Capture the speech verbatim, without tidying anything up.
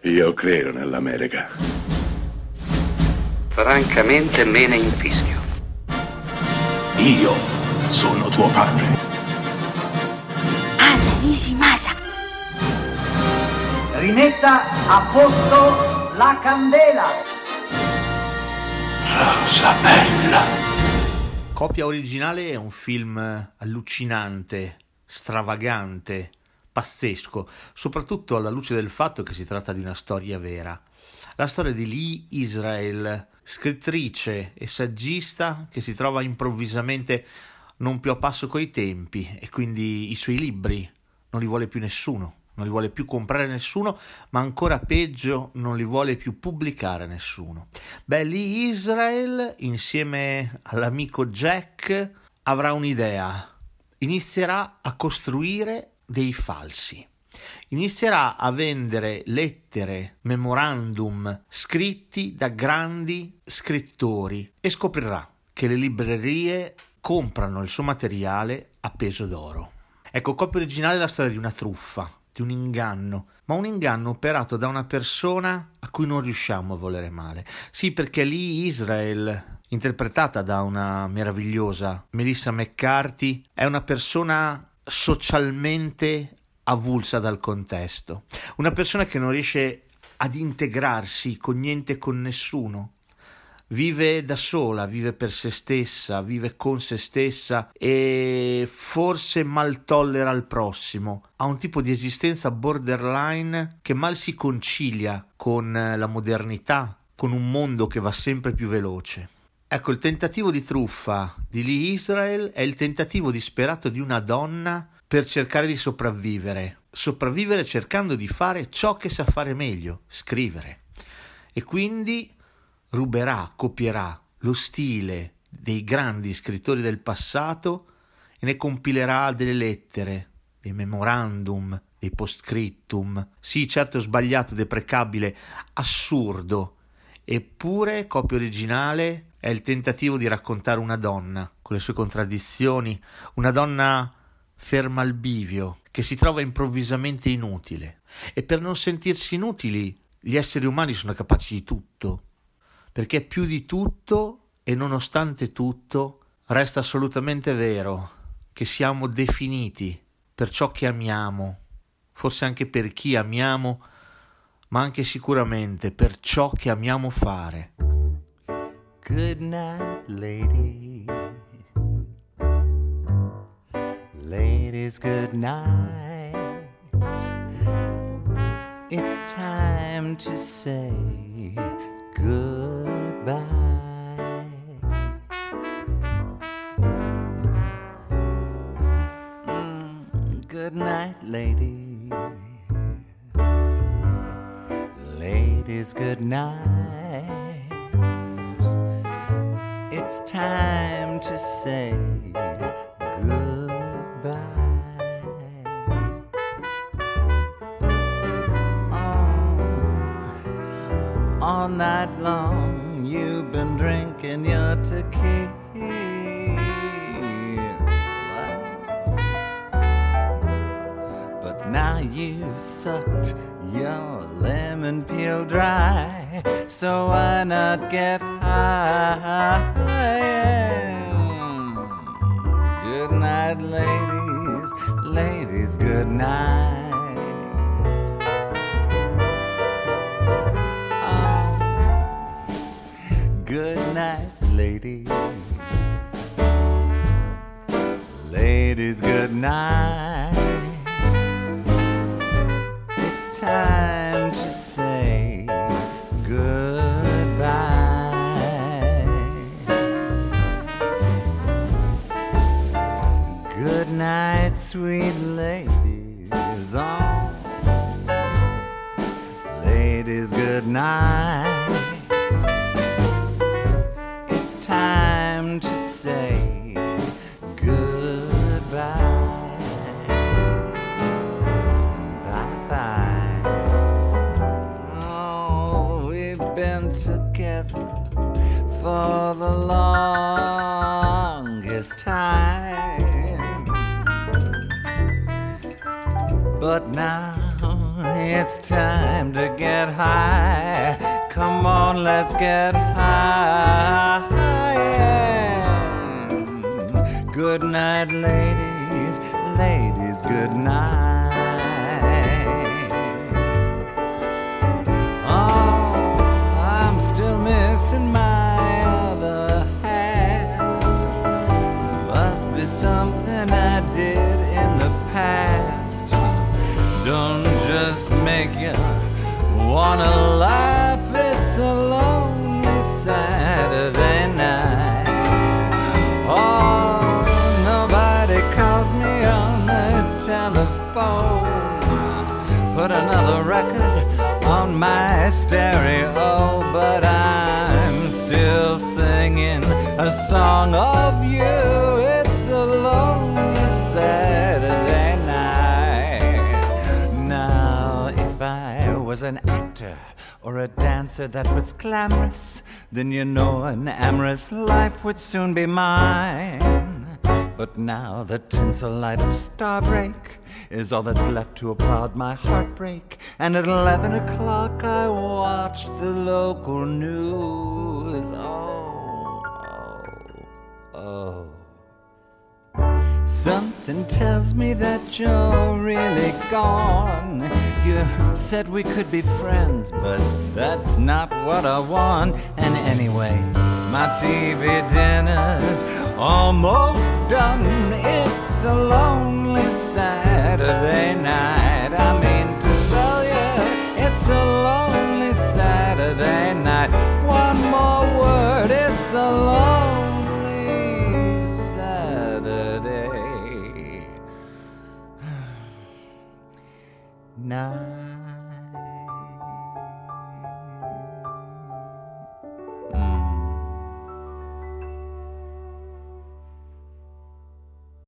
Io credo nell'America. Francamente me ne infischio. Io sono tuo padre. Anna Nishimasa. Rimetta a posto la candela. Rosa bella. Copia originale è un film allucinante, stravagante, pazzesco, soprattutto alla luce del fatto che si tratta di una storia vera. La storia di Lee Israel, scrittrice e saggista che si trova improvvisamente non più a passo coi tempi e quindi i suoi libri non li vuole più nessuno, non li vuole più comprare nessuno, ma ancora peggio non li vuole più pubblicare nessuno. Beh, Lee Israel insieme all'amico Jack avrà un'idea, inizierà a costruire dei falsi. Inizierà a vendere lettere, memorandum scritti da grandi scrittori e scoprirà che le librerie comprano il suo materiale a peso d'oro. Ecco, copia originale è la storia di una truffa, di un inganno, ma un inganno operato da una persona a cui non riusciamo a volere male. Sì, perché Lee Israel, interpretata da una meravigliosa Melissa McCarthy, è una persona socialmente avulsa dal contesto, una persona che non riesce ad integrarsi con niente e con nessuno, vive da sola, vive per se stessa, vive con se stessa e forse mal tollera il prossimo, ha un tipo di esistenza borderline che mal si concilia con la modernità, con un mondo che va sempre più veloce. Ecco, il tentativo di truffa di Lee Israel è il tentativo disperato di una donna per cercare di sopravvivere, sopravvivere cercando di fare ciò che sa fare meglio, scrivere. E quindi ruberà, copierà lo stile dei grandi scrittori del passato e ne compilerà delle lettere, dei memorandum, dei postscriptum. Sì, certo, sbagliato, deprecabile, assurdo. Eppure, copia originale è il tentativo di raccontare una donna con le sue contraddizioni, una donna ferma al bivio, che si trova improvvisamente inutile. E per non sentirsi inutili, gli esseri umani sono capaci di tutto, perché più di tutto e nonostante tutto resta assolutamente vero che siamo definiti per ciò che amiamo, forse anche per chi amiamo, ma anche sicuramente per ciò che amiamo fare. Good night, lady. Ladies, good night. It's time to say goodbye. Mm, good night, ladies. Ladies, good night. It's time to say goodbye. Oh, all night long you've been drinking your tequila, but now you've sucked your lemon peel dry, so why not get high? Good night, ladies, ladies, good night. Oh, good night, ladies, ladies, good night. It's time to say goodbye. Good night, sweet ladies. Oh, ladies, good night. It's time to say goodbye. Bye-bye. Oh, we've been together for the longest time, but now it's time to get high. Come on, let's get high. Good night, ladies, ladies, good night. Oh, I'm still missing my other half. Must be something I did in the past. Don't just make you wanna laugh. It's a lonely Saturday night. Oh, nobody calls me on the telephone. Put another record on my stereo, but I'm still singing a song of you. It's a lonely Saturday night. Now, if I was an actor or a dancer that was glamorous, then you know an amorous life would soon be mine. But now the tinsel light of Starbreak is all that's left to applaud my heartbreak. And at eleven o'clock I watched the local news. Oh, oh, oh. Something tells me that you're really gone. You said we could be friends, but that's not what I want. And anyway, my T V dinner's almost done. It's a lonely Saturday night.